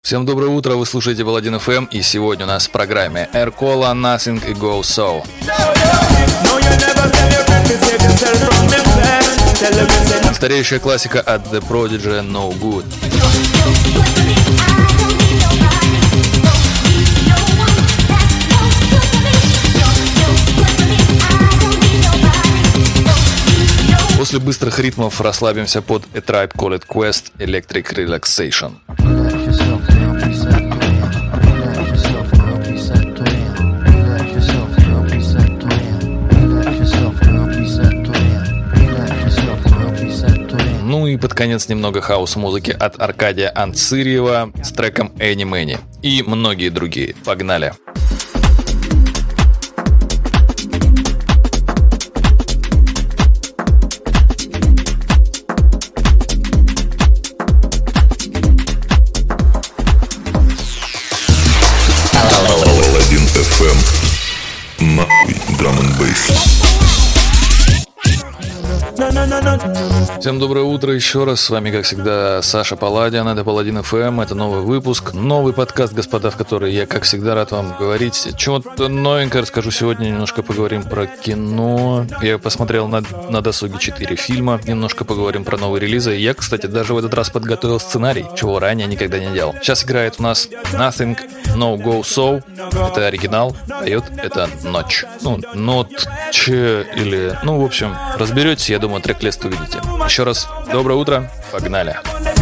Всем доброе утро, вы слушаете Паладин FM, и сегодня у нас в программе Aircola, Nothing и Go So. Стареющая классика от The Prodigy No Good. После быстрых ритмов расслабимся под A Tribe Called Quest Electric Relaxation. Ну и под конец немного хаус-музыки от Аркадия Анцирьева с треком Any Many и многие другие. Погнали! Паладин FM. Нахуй драм н бейс. Всем доброе утро еще раз. С вами, как всегда, Саша Паладин. Это Паладин FM. Это новый выпуск, новый подкаст, господа, в который я, как всегда, рад вам говорить. Чего-то новенькое расскажу сегодня. Немножко поговорим про кино. Я посмотрел на досуге 4 фильма. Немножко поговорим про новые релизы. Я, кстати, даже в этот раз подготовил сценарий, чего ранее никогда не делал. Сейчас играет у нас Nothing, No Go So. Это оригинал. Поет это Ночь. Ночь или... в общем, разберетесь, я думаю, трек-лист увидите. Еще раз, доброе утро, погнали.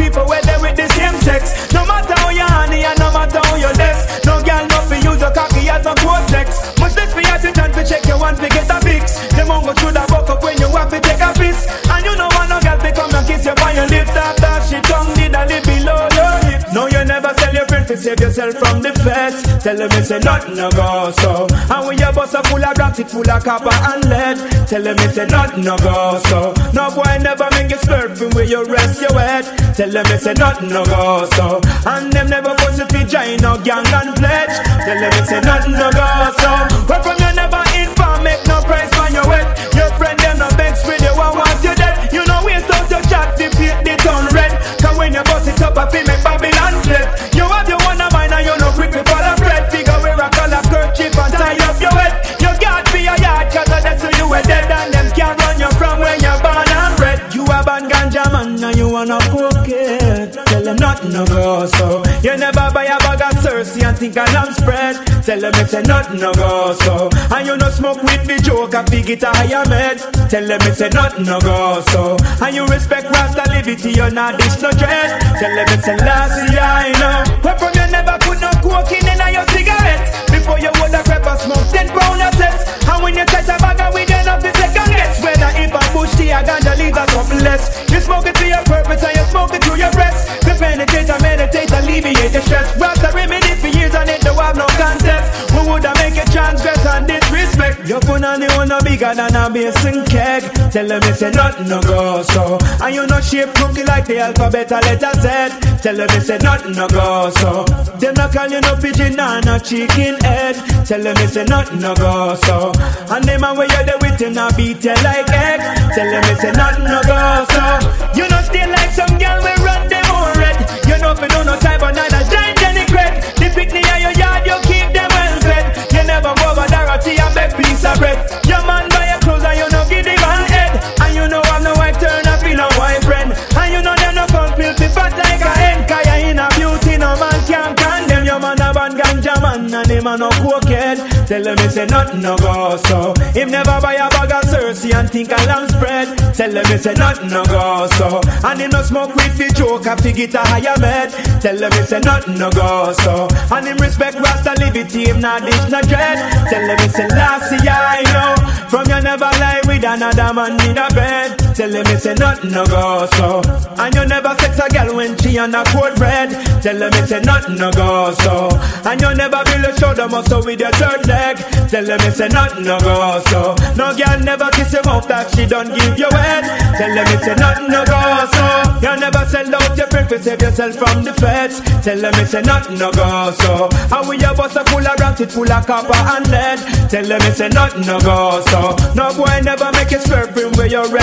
No, you never tell your friend to save yourself from the feds. Tell them it's a nothing no go so. And when your bus are full of rocks, it full of copper and lead. Tell them it's a nothing no go so. No boy never make you slurping where you rest your head. Tell them it's a nothing no go so. And them never force you to join no gang and pledge. Tell them it's a nothing no go so. Where from you never inform, make no price for your wet. Your friend them no begs with you, I want you dead. You know waste out your chat, the paint the town red. Cause when you bust it up, I feel make Babylon flip. You have your one of mine and you no quick to follow bread. Figure where I call a kerchief and tie up your head. You got for your yard cause that's who you were dead. And them can't run you from where you're born and bred. You a bad ganja man and you wanna cook it. Tell them nothing no go so. You never buy a bag of Cersei and think a lamb spread. Tell them it's a nothing no go so. And you no smoke with the joke and big it a higher med. Tell them it's a nothing no go so. And you respect Rasta liberty, you're not dish no dread. Tell them it's a last year I know. Where from you never put no coke in your cigarette. Before you would a crap and smoke 10 pound of cess. And when you touch a bag and we don't have the second guess. Whether if a bush tea or ganja leaves or something less. You smoke it to your purpose and you smoke it to your breast. To penetrate and meditate, alleviate the stress. Rasta remedy for years and it don't have no contest. Who would I make a transgress and disrespect? Your phone and the one no bigger than a basin keg. Tell them it's a nothing no go so. And you no shape cookie like the alphabet or letter Z. Tell them it's a nothing no go so. Them no call you no pigeon and no chicken head. Tell them it's a nothing no go so. And them a way you there with him now beat you like egg. Tell them it's a nothing no go so. You no stay like some girl we run them all red. You know if you do no type of neither giant any crack. The picnic in your yard you keep them well fed. You never go over Dorothy and beg piece of bread. Your man buy your clothes and you no give him an head. And you know I'm no wife turn up in a wife friend. And you know them no come filthy fat like a hen. Cause you in a beauty no man can't condemn. Your man a bad ganja man and him a no cokehead. Tell him it's a nothing no go so. Him never buy a bag of Cersei and think a lamb spread. Tell him it's a nothing no go so. And him no smoke with the joke and fig it a higher med. Tell him it's a nothing no go so. And him respect Rasta liberty, him not dish no dread. Tell him it's a last year I know. From you never lie with another man in a bed. Tell him it's a nothing no go so. And you never sex a girl when she on a cold bread. Tell him it's a nothing no go so. And you never build a shoulder muscle with your third leg. Tell him it's a nothing no go so. No girl never kiss him off that she don't give you head. Tell him it's a nothing no go so. You never sell out your friend to save yourself from the feds. Tell him it's a nothing no go so. And with your bus a full of rocks, it full of copper and lead. Tell him it's a nothing no go so. No boy never make you slurping where you rest your head.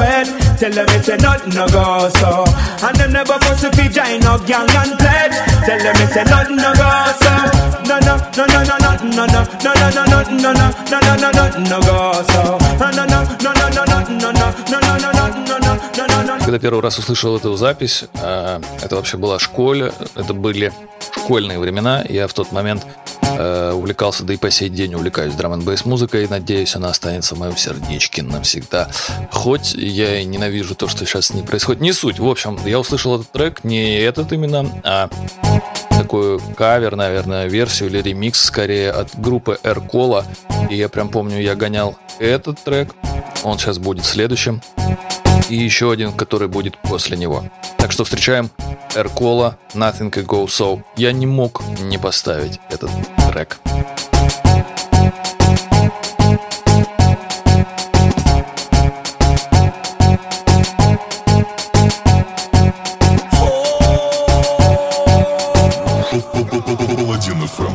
red. Tell them it's a nothing no go so. And them never force to feed join no gang and pledge. Tell them it's a nothing no go so. No no no no no no no no no no no no no no no no go so. No no no no no no no no no no no no no. Когда первый раз услышал эту запись, это вообще была школа, это были школьные времена. Я в тот момент увлекался, да и по сей день увлекаюсь драм-н-бейс музыкой, и надеюсь, она останется в моем сердечке навсегда. Хоть я и ненавижу то, что сейчас с ней происходит. Не суть. В общем, я услышал этот трек, не этот именно, а такую кавер, наверное, версию или ремикс скорее от группы Эркола. И я прям помню, я гонял этот трек. Он сейчас будет следующим. И еще один, который будет после него. Так что встречаем Эркола, Nothing Can Go So. Я не мог не поставить этот трек. Паладин FM.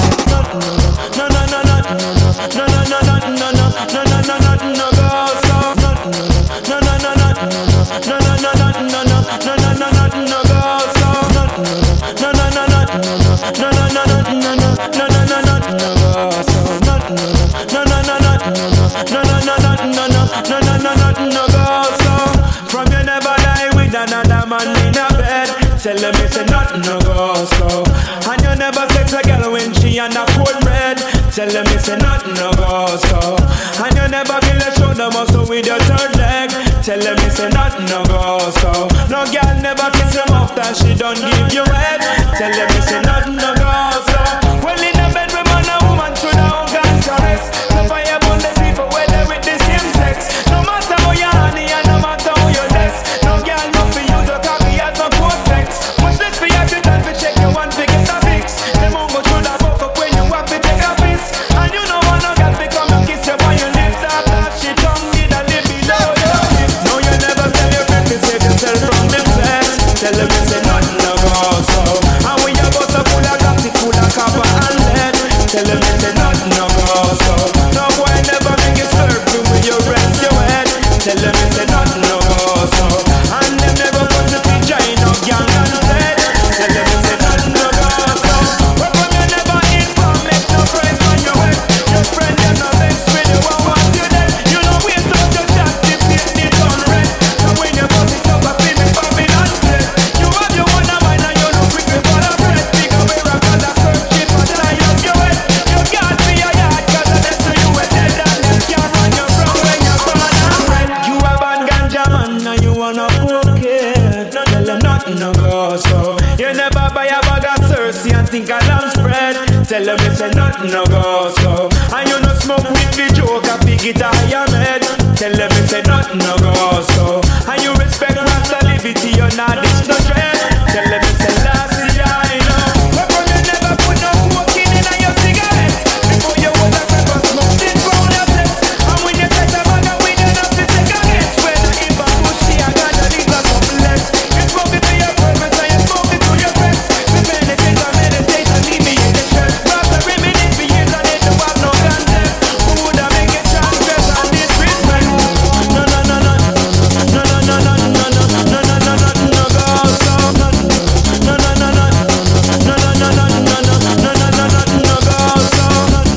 Tell them it's a nothing no go so. And you never sex a girl when she on a cold red. Tell them it's a nothing no go so. And you never feel a shoulder muscle with your third leg. Tell them it's a nothing no go so. No girl never kiss him after she don't give you head. Tell them it's a nothing no go so. Well in the bed with man and woman should have got caress. So fire upon the people where they with the same sex. No matter how you honey and no matter how you dress. No girl no for use a copy as no cortex. Much less for you to done to check your one to get a fix. Them won't go through that book up when you have to take a piss. And you know one no girl become a kiss you when you lips up that shit tongue did a live below your hips. No you never tell your friend to save yourself from them sex. Tell them it's a nothing no go so. And when you got a full of plastic, full of copper and lead. Tell them it's a nothing no go so. No boy never make you slurp when you rest your head. Tell them it's a nothing no go so. And them never put the picture in no gang and dead. Tell them it's a nothing no go so. But when you never inform, make no price on your head. Your friend you no best when you want you dead. You know we don't just chat, this it on red. So when you put it up, I feel me popping and dead. You have your one of mine and you look quick before the bread. Big away rock and a search it for the line of your head. You can't be a yard cause the next to you are dead. And them can't run you from when you're gone and red. You have a ganja man and you wanna poke it. Tell them nothing no go so. You never buy a bag of Cersei and think a lamb spread. Tell them it's a nothing no go so. And you no smoke with the joke and pick it out your head. Tell them it's a nothing no go so. And you respect Rasta liberty, you're not this no dread. Tell them it's a last year, I know. But you never put no smoking in your cigarette. Before you was a pepper smoke, this round your set. And when you set a bag of weed, you have to take a get. When I eat a pussy, I got a little something less. You smoke it to your purpose and you smoke it to your friends. The meditation, leave me in the church. Rasta reminisce for years and they don't have no concept. Who would have make it transgress and disrespect? No, no, no, no. No, no, no, no, no, no, no, no, no, no, no, go so. No, no, no, no, no, no, no, no, no, no, no, no, no, no, go so.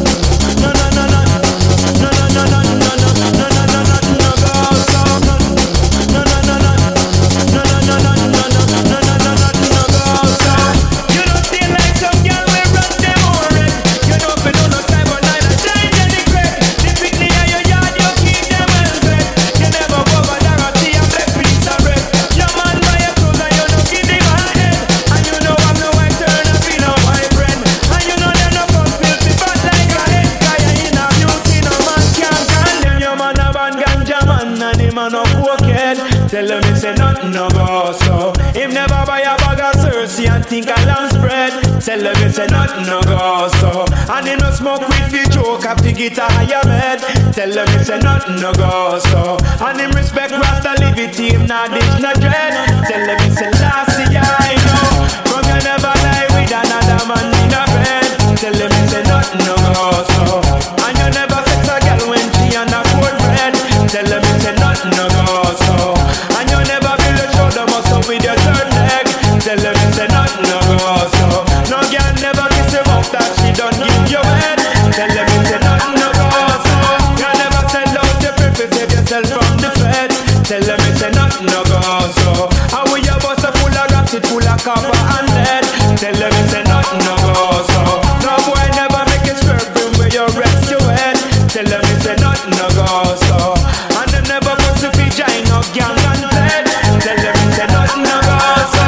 No, no, no, no, no, no, no, no, no, no, no, no, no, go so. No, no, no, no, no, no, no, no, no, no, go so. You don't feel like some girl we run them already. You don't feel no time but neither change any crack. The picnic in your yard you keep them well fed. You never go over there and see a black piece of bread. Your man buy your clothes and you don't give him a head. And you know I'm no white turn and be no white friend. And you know them no come filthy bad like a head. Cause you in a beauty no man can't condemn. Your man a bad ganja man and him a no cokehead. Tell him it's a nothing no go so. Him never buy a bag of Cersei and think a lamb spread. Tell him it's a nothing no go so. And him no smoke with the joke and pick it a higher head. Tell him it's a nothing no go so. And him respect Rasta liberty, him not this no dread. Tell him it's a last year I know. From you never lie with another man in a bed. Tell him it's a nothing no go so. And you never sex a girl when she on a cold bread. Tell him it's a nothing no go so. Tell them it's a nothing no go so. No boy never make it swerving where you rest your head. Tell them it's a nothing no go so. And them never put to be giant no gang and dead. Tell them it's a nothing no go so.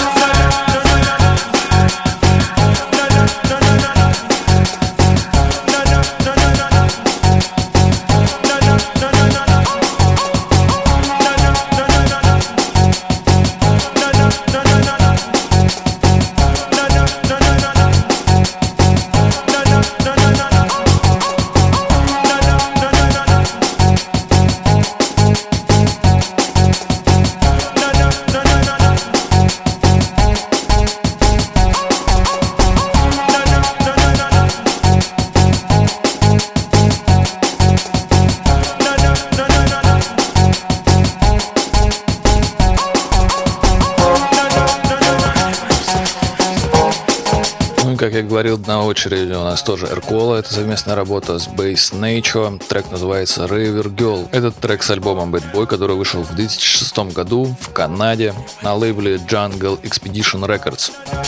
Как я говорил, на очереди у нас тоже Эркола. Это совместная работа с Bass Nature. Трек называется River Girl. Этот трек с альбомом Bad Boy, который вышел в 2006 году в Канаде на лейбле Jungle Expedition Records.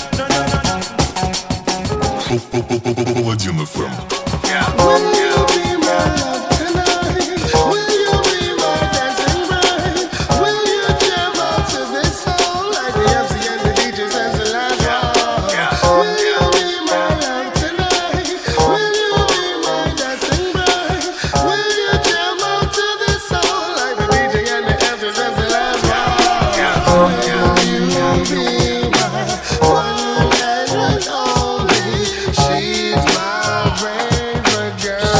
Паладин FM. She's my favorite girl.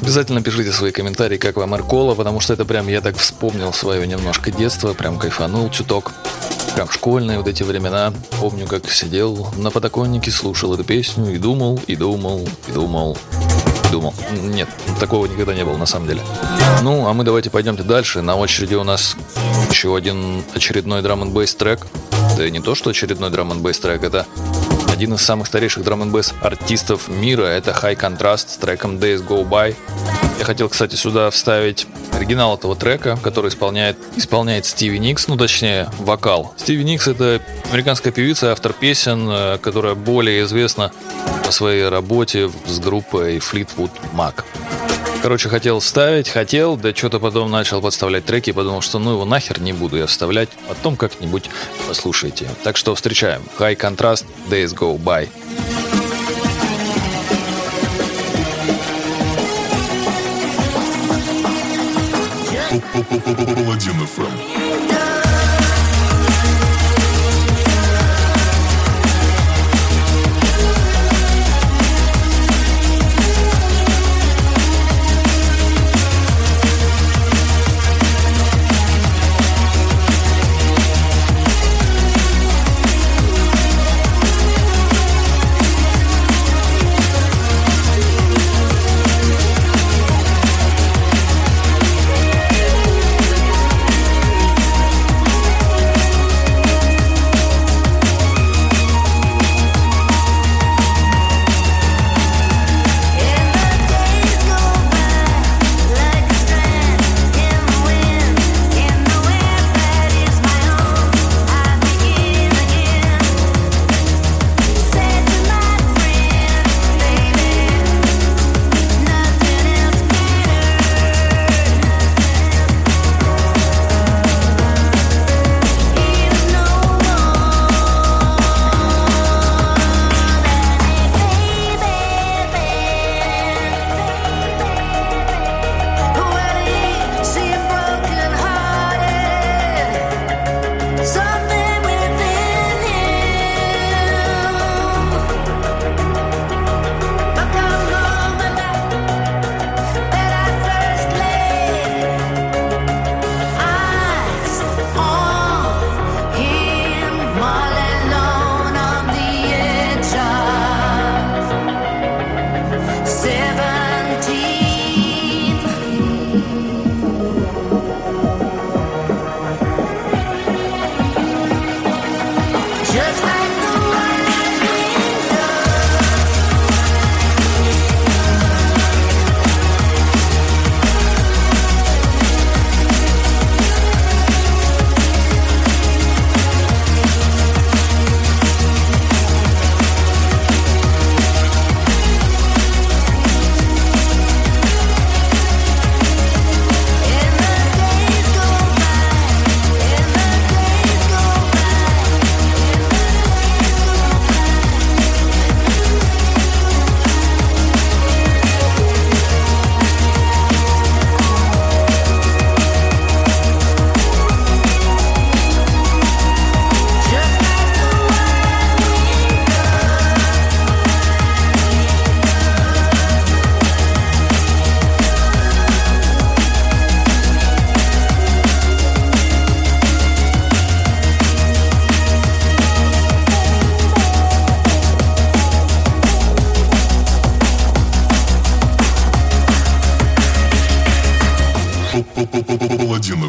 Обязательно пишите свои комментарии, как вам Эркола, потому что это прям я так вспомнил свое немножко детство, прям кайфанул чуток. Прям школьные вот эти времена. Помню, как сидел на подоконнике, слушал эту песню и думал, и думал, и думал. Нет, такого никогда не было на самом деле. Ну, а мы давайте пойдемте дальше. На очереди у нас еще один очередной драм-н-бейс трек. Да и не то, что очередной драм-н-бейс трек, это один из самых старейших драм-н-бейс артистов мира. Это High Contrast с треком Days Go By. Я хотел, кстати, сюда вставить оригинал этого трека, который исполняет Стиви Никс, ну точнее вокал. Стиви Никс — это американская певица, автор песен, которая более известна по своей работе с группой Fleetwood Mac. Короче, хотел вставить, да что-то потом начал подставлять треки, подумал, что ну его нахер не буду я вставлять, потом как-нибудь послушайте. Так что встречаем High Contrast, Days Go By. Паладин FM. Паладин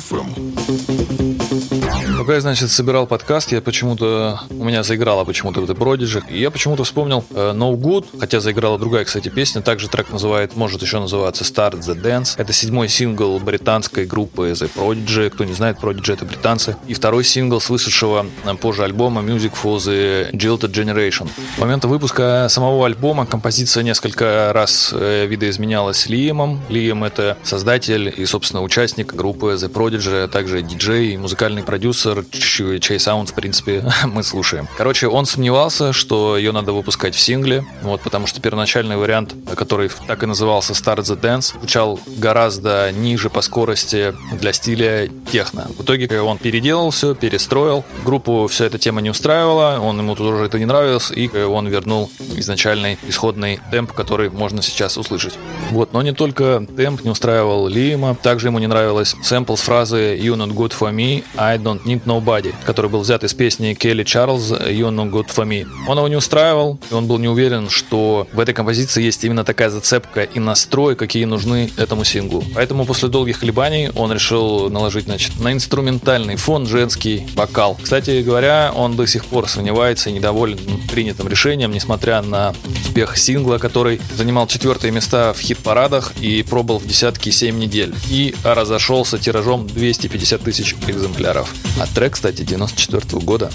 FM. Пока я, значит, собирал подкаст, у меня заиграла почему-то The Prodigy, и я почему-то вспомнил No Good, хотя заиграла другая, кстати, песня, также трек может еще называться Start the Dance. Это 7-й сингл британской группы The Prodigy. Кто не знает, Prodigy — это британцы. И второй сингл с вышедшего позже альбома Music for the Jilted Generation. С момента выпуска самого альбома композиция несколько раз видоизменялась Лиэмом. Лиэм — это создатель и, собственно, участник группы The Prodigy, а также диджей и музыкальный продюсер River, чей саунд, в принципе, мы слушаем. Короче, он сомневался, что ее надо выпускать в сингле, вот, потому что первоначальный вариант, который так и назывался Start the Dance, звучал гораздо ниже по скорости для стиля техно. В итоге он переделал все, перестроил. Группу вся эта тема не устраивала, ему тоже это не нравилось, и он вернул изначальный исходный темп, который можно сейчас услышать. Вот, но не только темп не устраивал Лиама, также ему не нравилась сэмпл с фразы «You not good for me, I don't need nobody», который был взят из песни Келли Чарльз «You not good for me». Он его не устраивал, и он был не уверен, что в этой композиции есть именно такая зацепка и настрой, какие нужны этому синглу. Поэтому после долгих колебаний он решил наложить, на инструментальный фон женский вокал. Кстати говоря, он до сих пор сомневается и недоволен принятым решением, несмотря на успех сингла, который занимал 4 места в хит-парадах и пробыл в десятке 7 недель. И разошелся тиражом 250 тысяч экземпляров. А трек, кстати, 94 года.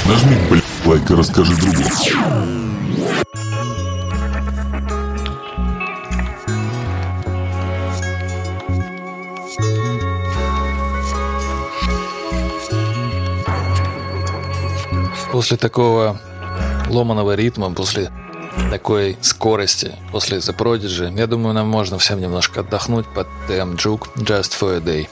Нажми, лайк и расскажи другу. После такого ломаного ритма, после такой скорости, после The Prodigy, я думаю, нам можно всем немножко отдохнуть под TM Juke Just for a Day.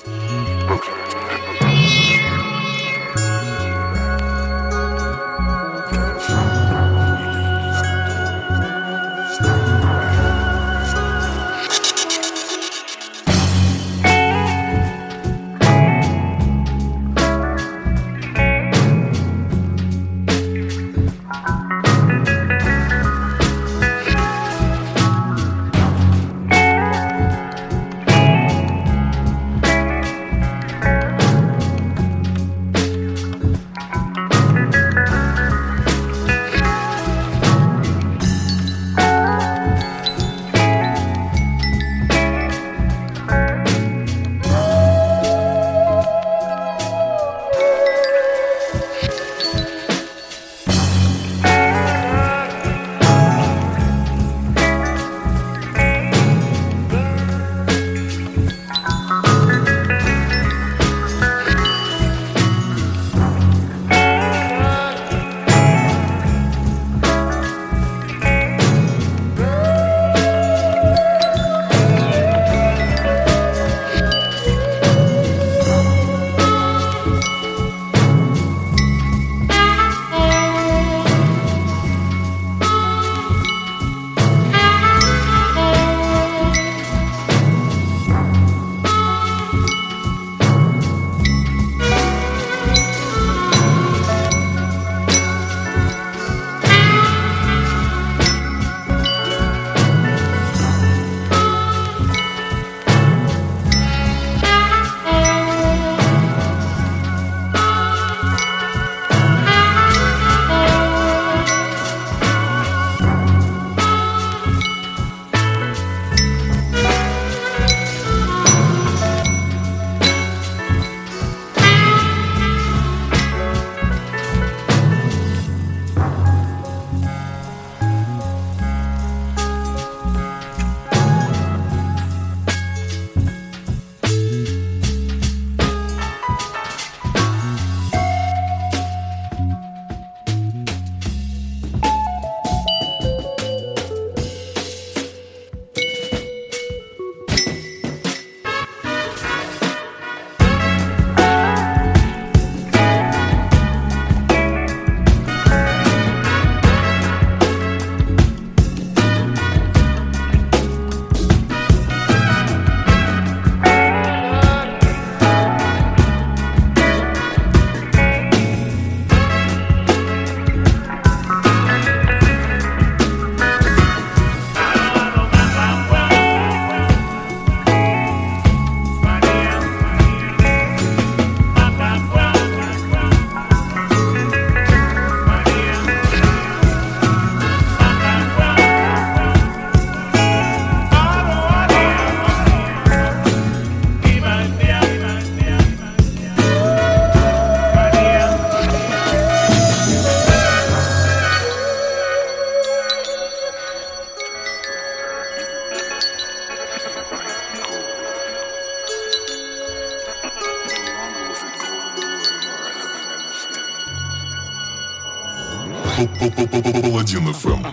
Паладин FM.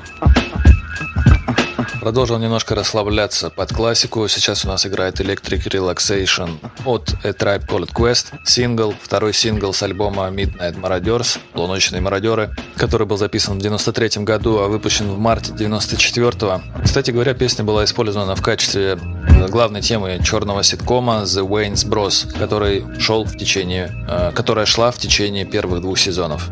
Продолжил немножко расслабляться под классику. Сейчас у нас играет Electric Relaxation от A Tribe Called Quest. Сингл, второй сингл с альбома Midnight Marauders, Полуночные мародеры, который был записан в 93 году, а выпущен в марте 94-го. Кстати говоря, песня была использована в качестве главной темы черного ситкома The Wayans Bros, которая шла в течение первых 2 сезонов.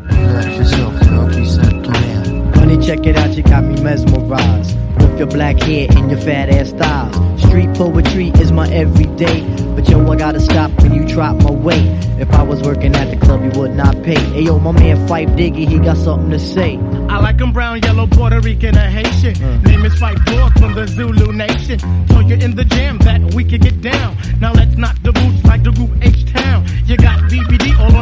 Check it out, you got me mesmerized with your black hair and your fat ass thighs. Street poetry is my everyday, but yo, I gotta stop when you drop my weight. If I was working at the club, you would not pay. Hey yo, my man Fife Diggy, he got something to say. I like him brown, yellow, Puerto Rican, or Haitian. Name is Fife Dog from the Zulu Nation. So you're in the jam that we can get down. Now let's knock the boots like the group H-Town. You got BBD all on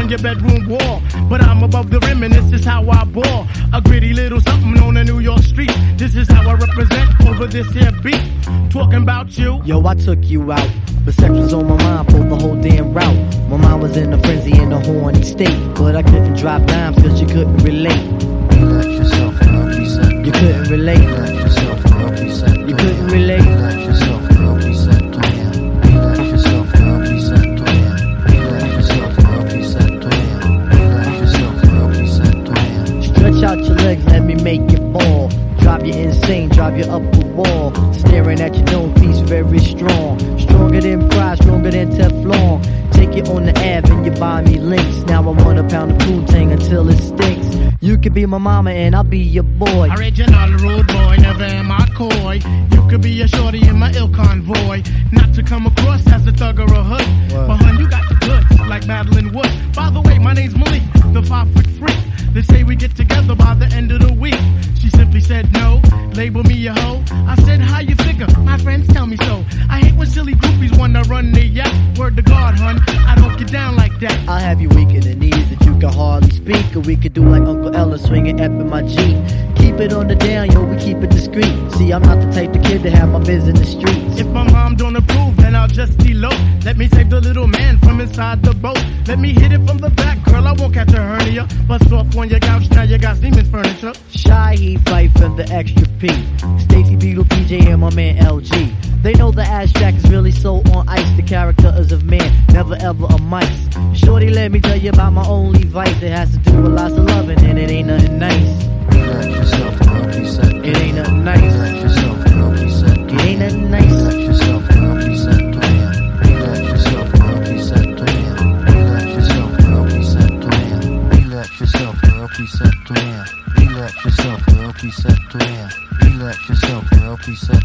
on your bedroom wall. But I'm above the rim and this is how I ball. A gritty little something on a New York street. This is how I represent over this here beat. Talking about you. Yo, I took you out, but sex was on my mind for the whole damn route. My mind was in a frenzy in a horny state, but I couldn't drop dimes cause you couldn't relate. You let yourself up, he said. You couldn't relate. You let yourself up, he said. You couldn't relate. You let yourself up, he said. You let yourself up, he said. You let yourself up, he said. You let yourself up, he said. Stretch out your legs, let me make you ball. Drive you insane, drive you up the wall. Staring at your dome piece, very strong. Stronger than pride, stronger than Teflon. Take it on the Ave and you buy me links. Now I want a pound of Poontang until it stinks. You could be my mama and I'll be your boy. Original rude boy, never am I coy. You could be a shorty in my ill convoy. Not to come across as a thug or a hood. But hun, you got the goods, like Madeline Wood. By the way, my name's Malik, the 5-foot freak. They say we get together by the end of the week. She simply said no, label me a hoe. I said, how you figure? My friends tell me so. I hate when silly groupies wanna run their yap. Word to God, hun, I don't get down like that. I'll have you weak in the knees that you can hardly speak. Or we could do like Uncle Ella swinging up in my Jeep. Keep it on the down, yo, we keep it discreet. See, I'm not the type of kid to have my biz in the streets. If my mom don't approve, then I'll just elope. Let me save the little man from inside the boat. Let me hit it from the back, girl, I won't catch a hernia. Bust off on your couch, now you got Siemens furniture. Shy, he fight from the extra P. Stacy Beetle, PJ, and my man LG. They know the ass jack is really so on ice. The character is of man, never ever a mice. Shorty, let me tell you about my only vice. It has to do with lots of loving, and it ain't nothing nice. You let yourself up, he said. It ain't nothing nice. You let yourself up, he said. It ain't nothing nice. You let yourself up, he said. You let yourself up, he said. You let yourself up, he said. You let yourself up, he said. You let yourself up, he said. You let yourself up, he said.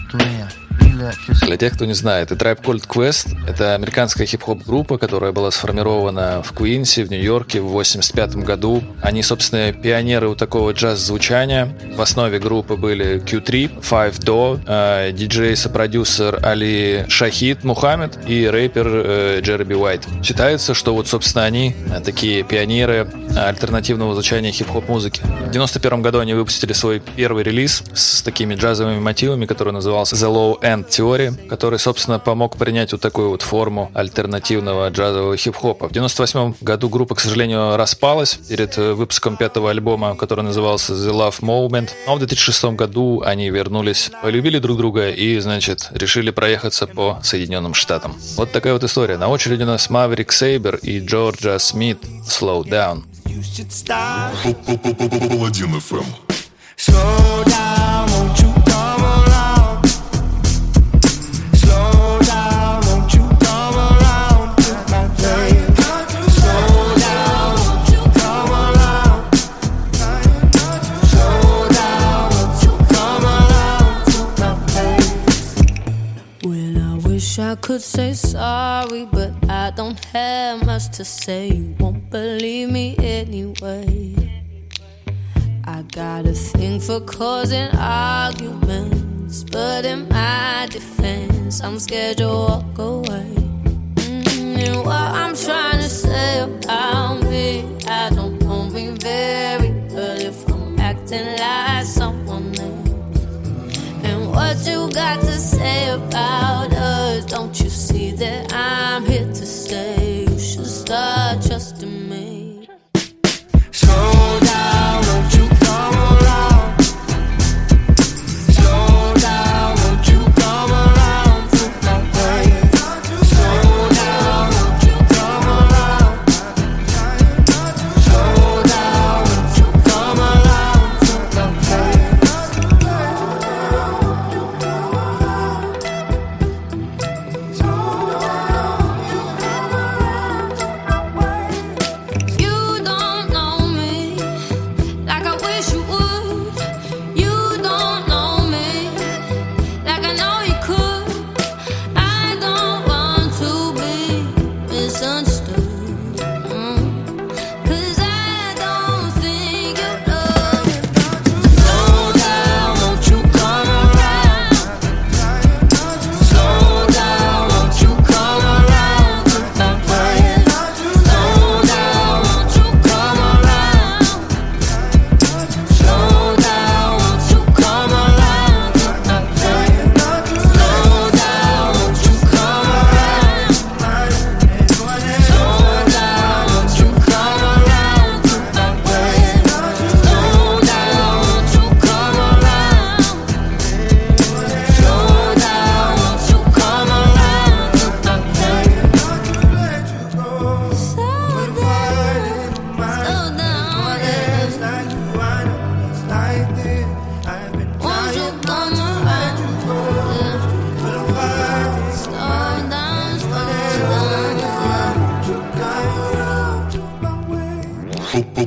Для тех, кто не знает, A Tribe Called Quest — это американская хип-хоп-группа, которая была сформирована в Куинсе, в Нью-Йорке в 1985 году. Они, собственно, пионеры у такого джаз-звучания. В основе группы были Q3, Five Do, диджей-сопродюсер Али Шахид Мухаммед и рэпер Джерби Уайт. Считается, что вот, собственно, они такие пионеры альтернативного звучания хип-хоп-музыки. В 1991 году они выпустили свой первый релиз с такими джазовыми мотивами, который назывался The Low End Theory, который, собственно, помог принять вот такую вот форму альтернативного джазового хип-хопа. В 1998 году группа, к сожалению, распалась перед выпуском пятого альбома, который назывался The Love Moment. Но в 2006 году они вернулись, полюбили друг друга и, значит, решили проехаться по Соединенным Штатам. Вот такая вот история. На очереди у нас Maverick Sabre и Джорджа Смит Slow Down. Паладин FM. Slow down, won't you come around? Slow down, won't you come around to my place? Slow down, won't you come around? Slow down, won't you come around to my place? Well, I wish I could say sorry, but I don't have much to say. You won't believe me anyway. I got a thing for causing arguments, but in my defense, I'm scared to walk away. And what I'm trying to say about me, I don't know me very well if I'm acting like someone else. And what you got to say about us, don't you see that I'm here to stay? You should start trusting me. Slow down, won't you come around? Slow down, won't you come around to my place? Slow down, won't you come around? Slow down, won't you come around to my place?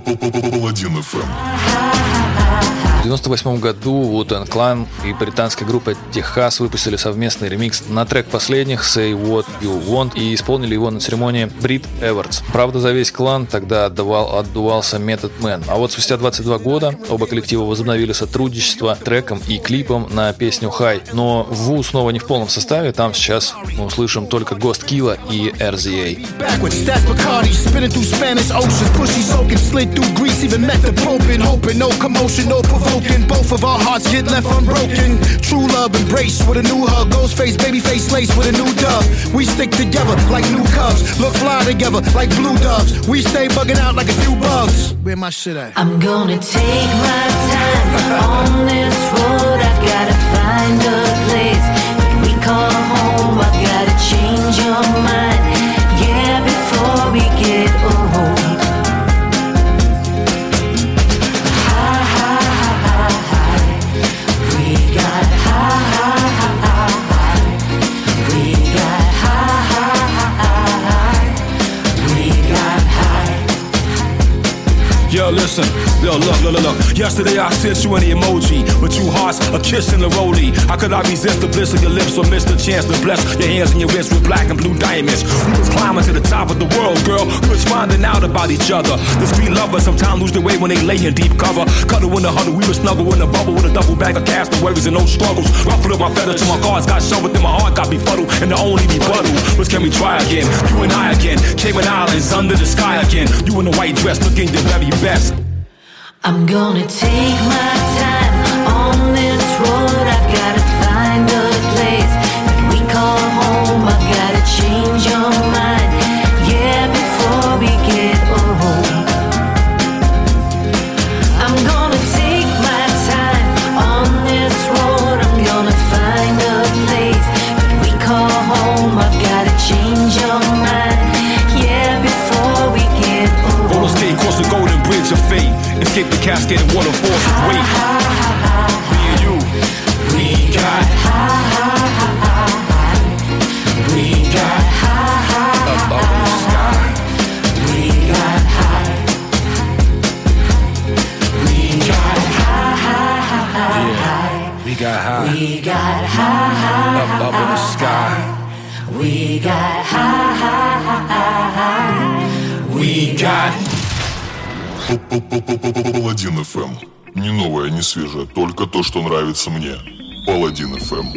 Паладин FM. В 1998 году Wu-Tang Clan и британская группа Техас выпустили совместный ремикс на трек последних Say What You Want и исполнили его на церемонии Брит Эвардс. Правда, за весь клан тогда отдувался Method Man. А вот спустя 22 года оба коллектива возобновили сотрудничество треком и клипом на песню High. Но Ву снова не в полном составе, там сейчас мы услышим только Ghost Killa и RZA. Both of our hearts get left unbroken. True love embrace with a new hug. Ghost face, baby face lace with a new dove. We stick together like new cubs. Look fly together like blue doves. We stay bugging out like a few bugs. Where my shit at? I'm gonna take my time on this road. I've gotta find a place that we call home. I've gotta change your mind. Yeah, before we get old. Yo, listen, look. Yesterday I sent you an emoji with two hearts, a kiss and a rollie. How could I resist the bliss of your lips or miss the chance to bless your hands and your wrists with black and blue diamonds? We was climbing to the top of the world, girl. We was finding out about each other. The street lovers sometimes lose their way when they lay in deep cover. Cuddle in the huddle, we were snuggle in the bubble with a double bag of castaways and no struggles. Ruffled up my feathers till my cards got shoved and my heart got befuddled. And the only rebuttal was, can we try again? You and I again, Cayman Islands under the sky again. You in the white dress looking your very best. I'm gonna take my time on this road. I've gotta find a place that we call home. I've gotta change your mind, yeah, before we get old. I'm gonna take my time on this road. I'm gonna find a place that we call home. I've gotta change your mind, yeah, before we get old. Roller skate across the golden bridge of fate. Escape the cascade and waterfalls of weight. Me and you, we got we got up in the sky. We got high. We got high. Yeah, we got high. We got high. Up in the sky. We got high. We got Паладин FM. Не новое, не свежее, только то, что нравится мне. Паладин FM.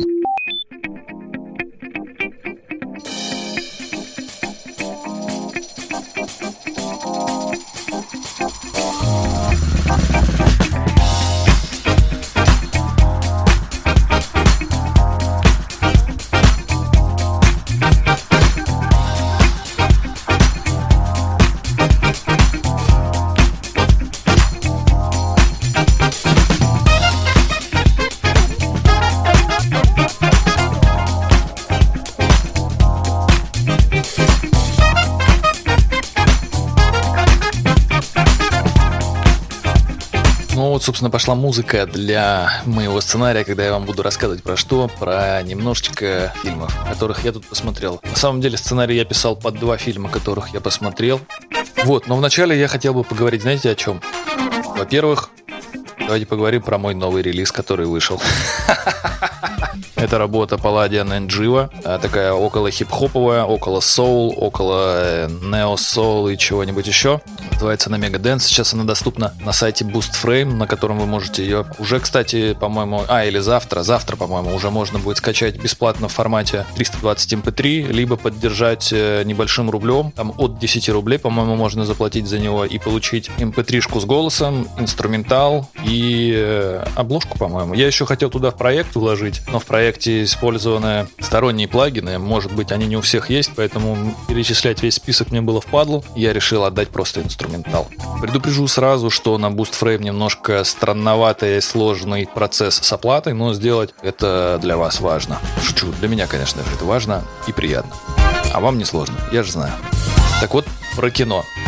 Ну вот, собственно, пошла музыка для моего сценария, когда я вам буду рассказывать про что, про немножечко фильмов, которых я тут посмотрел. На самом деле сценарий я писал под 2 фильма, которых я посмотрел. Вот, но вначале я хотел бы поговорить, знаете, о чем? Во-первых, давайте поговорим про мой новый релиз, который вышел. Это работа Palladian and Jiva, такая около хип-хоповая, около соул, около нео-соул и чего-нибудь еще. Называется она Megadance. Сейчас она доступна на сайте Boost Frame, на котором вы можете ее уже, кстати, по-моему, или завтра, по-моему, уже можно будет скачать бесплатно в формате 320 MP3, либо поддержать небольшим рублем. Там от 10 рублей, по-моему, можно заплатить за него и получить MP3-шку с голосом, инструментал и обложку, по-моему. Я еще хотел туда в проект вложить, но в проекте использованы сторонние плагины. Может быть, они не у всех есть, поэтому перечислять весь список мне было впадлу. Я решил отдать просто инструментал. Предупрежу сразу, что на Boost Frame немножко странноватый и сложный процесс с оплатой, но сделать это для вас важно. Шучу, для меня, конечно же, это важно и приятно. А вам не сложно, я же знаю. Так вот, про кино.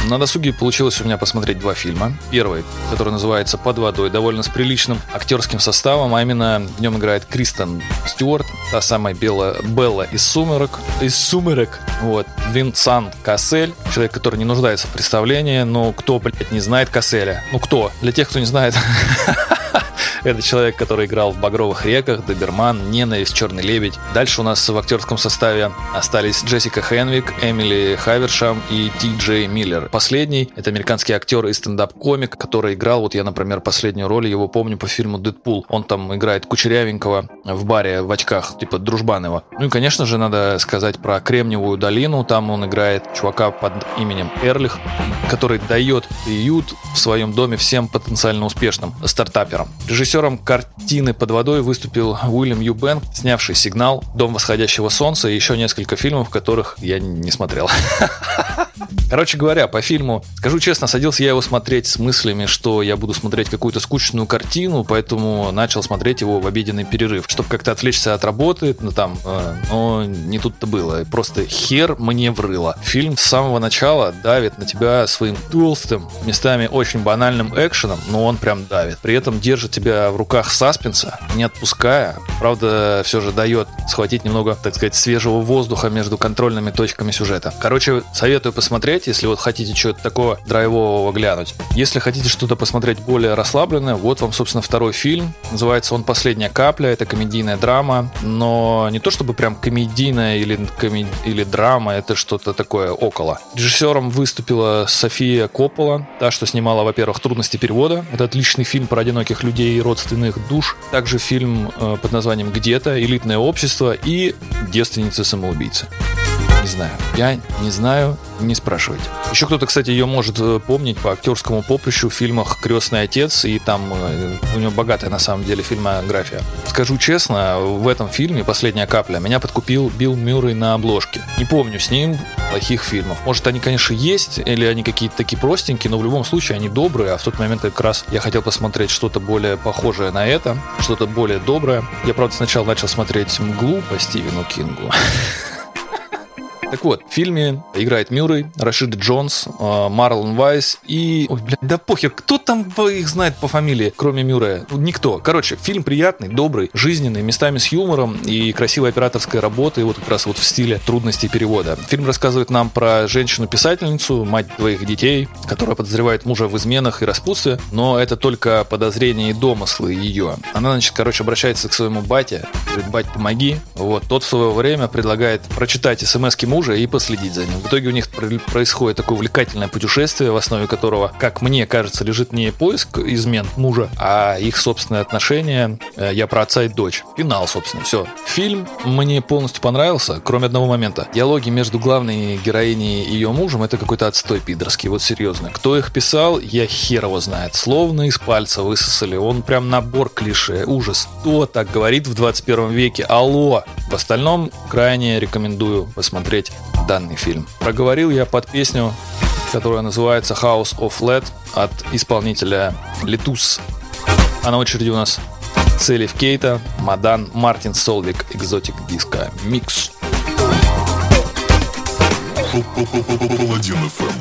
На досуге получилось у меня посмотреть 2 фильма. Первый, который называется «Под водой», довольно с приличным актерским составом, а именно в нем играет Кристен Стюарт, та самая Белла из «Сумерек». Вот. Винсент Кассель, человек, который не нуждается в представлении, но кто, блядь, не знает Касселя? Ну кто? Для тех, кто не знает... Это человек, который играл в «Багровых реках», «Доберман», «Ненависть», «Черный лебедь». Дальше у нас в актерском составе остались Джессика Хенвик, Эмили Хавершам и Ти Джей Миллер. Последний — это американский актер и стендап-комик, который играл, вот я, например, последнюю роль его помню по фильму «Дэдпул». Он там играет кучерявенького в баре в очках, типа дружбан его. Ну и, конечно же, надо сказать про «Кремниевую долину». Там он играет чувака под именем Эрлих, который дает приют в своем доме всем потенциально успешным стартаперам. Режиссером картины «Под водой» выступил Уильям Юбенк, снявший «Сигнал», «Дом восходящего солнца» и еще несколько фильмов, которых я не смотрел. Короче говоря, по фильму, скажу честно, садился я его смотреть с мыслями, что я буду смотреть какую-то скучную картину, поэтому начал смотреть его в обеденный перерыв, чтобы как-то отвлечься от работы, но не тут-то было. Просто хер мне врыло. Фильм с самого начала давит на тебя своим толстым, местами очень банальным экшеном, но он прям давит. При этом держит тебя в руках саспенса, не отпуская. Правда, все же дает схватить немного, так сказать, свежего воздуха между контрольными точками сюжета. Короче, советую посмотреть, если вот хотите чего-то такого драйвового глянуть. Если хотите что-то посмотреть более расслабленное, вот вам, собственно, второй фильм. Называется он «Последняя капля». Это комедийная драма, но не то чтобы прям комедийная или драма, это что-то такое около. Режиссером выступила София Коппола, та, что снимала, во-первых, «Трудности перевода». Это отличный фильм про одиноких людей и родственных душ. Также фильм под названием «Где-то», «Элитное общество» и «Девственницы-самоубийцы». Не знаю. Я не знаю, не спрашивайте. Еще кто-то, кстати, ее может помнить по актерскому поприщу в фильмах «Крестный отец», и там у него богатая, на самом деле, фильмография. Скажу честно, в этом фильме «Последняя капля» меня подкупил Билл Мюррей на обложке. Не помню с ним плохих фильмов. Может, они, конечно, есть, или они какие-то такие простенькие, но в любом случае они добрые, а в тот момент как раз я хотел посмотреть что-то более похожее на это, что-то более доброе. Я, правда, сначала начал смотреть «Мглу» по Стивену Кингу. Так вот, в фильме играет Мюррей, Рашид Джонс, Марлон Вайс и... Ой, блядь, да похер, кто там их знает по фамилии, кроме Мюррея? Никто. Короче, фильм приятный, добрый, жизненный, местами с юмором и красивой операторской работой, вот как раз вот в стиле «Трудностей перевода». Фильм рассказывает нам про женщину-писательницу, мать двоих детей, которая подозревает мужа в изменах и распутстве, но это только подозрения и домыслы ее. Она, значит, обращается к своему бате, говорит: «Бать, помоги». Вот, тот в свое время предлагает прочитать смс-ки мужа и последить за ним. В итоге у них происходит такое увлекательное путешествие, в основе которого, как мне кажется, лежит не поиск измен мужа, а их собственные отношения. Я про отца и дочь. Финал, собственно, все. Фильм мне полностью понравился, кроме одного момента. Диалоги между главной героиней и ее мужем — это какой-то отстой пидорский, вот серьезно. Кто их писал, я хер его знает. Словно из пальца высосали. Он прям набор клише. Ужас. Кто так говорит в 21 веке? Алло! В остальном крайне рекомендую посмотреть данный фильм. Проговорил я под песню, которая называется House of Lead от исполнителя Letus. А на очереди у нас Селиф Кейта, Мадан, Мартин Солвик, Exotic Disco Mix. Паладин FM.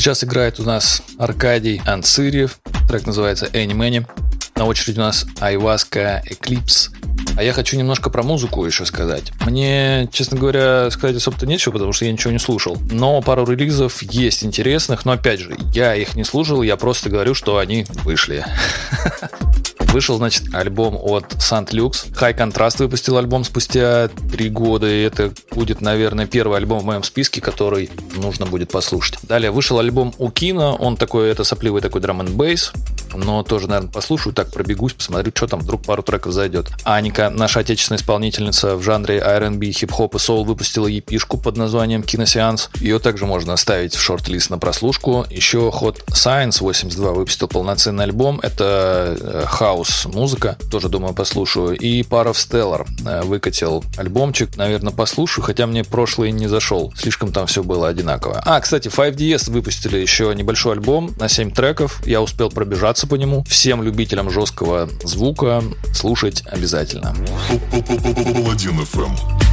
Сейчас играет у нас Аркадий Анцирьев. Трек называется «Any Many». На очереди у нас Ayahuasca Eclipse. А я хочу немножко про музыку еще сказать. Мне, честно говоря, сказать особо-то нечего, потому что я ничего не слушал. Но пару релизов есть интересных. Но опять же, я их не слушал, я просто говорю, что они вышли. Вышел, значит, альбом от Saint Lux. High Contrast выпустил альбом спустя 3 года. И это будет, наверное, первый альбом в моем списке, который нужно будет послушать. Далее вышел альбом у Kino. Он такой, это сопливый такой драм-н-бейс. Но тоже, наверное, послушаю, так пробегусь, посмотрю, что там, вдруг пару треков зайдет. Аника, наша отечественная исполнительница в жанре R&B, хип-хоп и соул, выпустила EP-шку под названием «Киносеанс». Ее также можно оставить в шорт-лист на прослушку. Еще Hot Science 82 выпустил полноценный альбом. Это хаус-музыка, тоже, думаю, послушаю. И Part of Stellar выкатил альбомчик, наверное, послушаю, хотя мне прошлый не зашел. Слишком там все было одинаково. Кстати, 5DS выпустили еще небольшой альбом на 7 треков. Я успел пробежаться по нему. Всем любителям жесткого звука слушать обязательно. Паладин FM.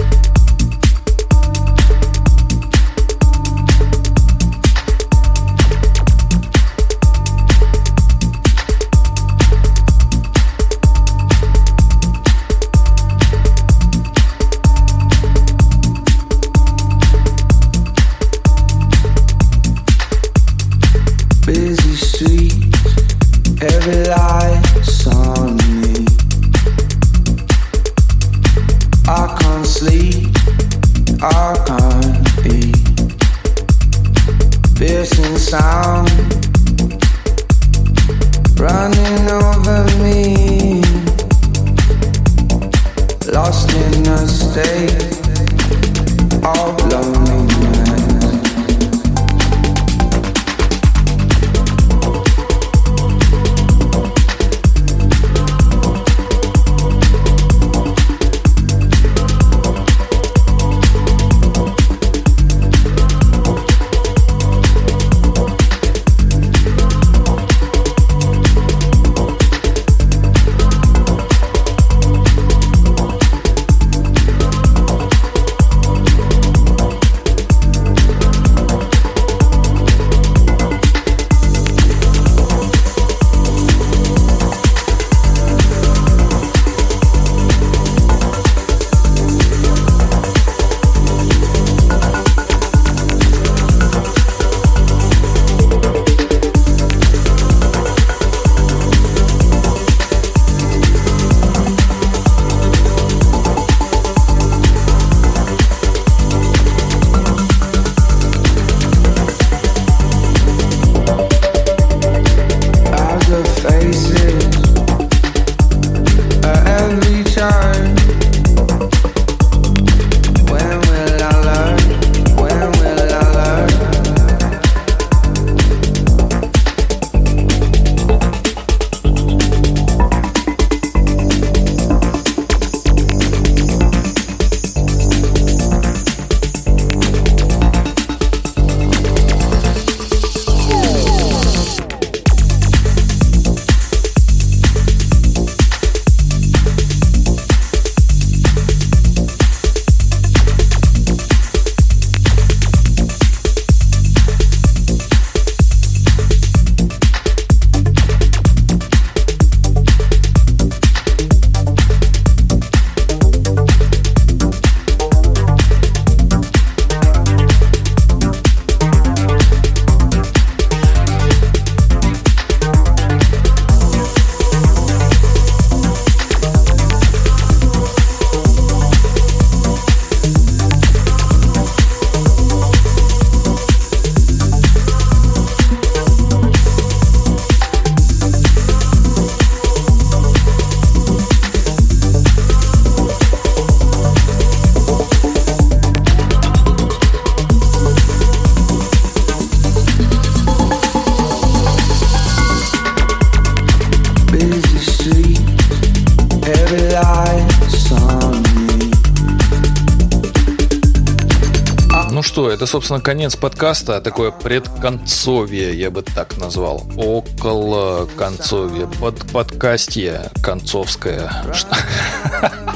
Busy streets, every light's on me. I can't sleep, I can't eat. Piercing sound running over me. Lost in a state of loneliness. что, это, собственно, конец подкаста, такое предконцовье, я бы так назвал. Около концовья, подкастье концовское.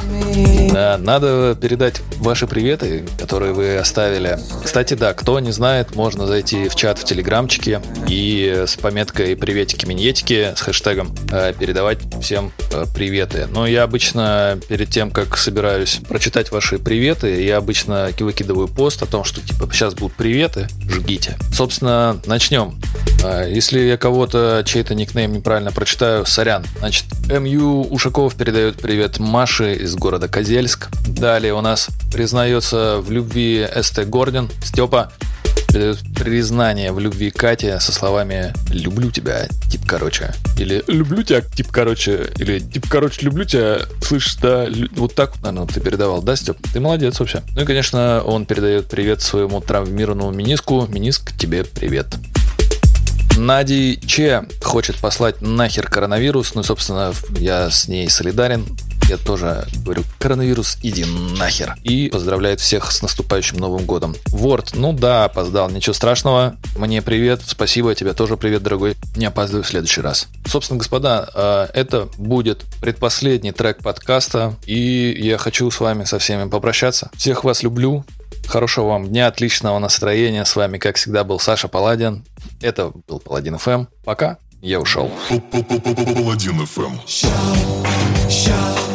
Надо передать ваши приветы, которые вы оставили. Кстати, да, кто не знает, можно зайти в чат в телеграмчике и с пометкой «приветики-миньетики» с хэштегом передавать всем приветы. Но я обычно перед тем, как собираюсь прочитать ваши приветы, я обычно выкидываю пост о том, что типа сейчас будут приветы, жгите. Собственно, начнем. Если я кого-то, чей-то никнейм неправильно прочитаю, сорян. Значит, МЮ Ушаков передает привет Маше из города Козельск. Далее у нас признается в любви СТ Гордон. Степа передает признание в любви Кате со словами «люблю тебя, тип короче». Или «люблю тебя, тип короче». Или «тип короче, люблю тебя». Слышишь, да? Вот так, наверное, ты передавал, да, Степ? Ты молодец вообще. Ну и, конечно, он передает привет своему травмированному мениску. Мениск, тебе привет. Нади Че хочет послать нахер коронавирус. Ну и, собственно, я с ней солидарен. Я тоже говорю: коронавирус, иди нахер. И поздравляет всех с наступающим Новым годом. Ворд, ну да, опоздал, ничего страшного. Мне привет, спасибо, тебе тоже привет, дорогой. Не опаздывай в следующий раз. Собственно, господа, это будет предпоследний трек подкаста. И я хочу с вами со всеми попрощаться. Всех вас люблю. Хорошего вам дня, отличного настроения. С вами, как всегда, был Саша Паладин. Это был Паладин FM. Пока, я ушел. Паладин FM.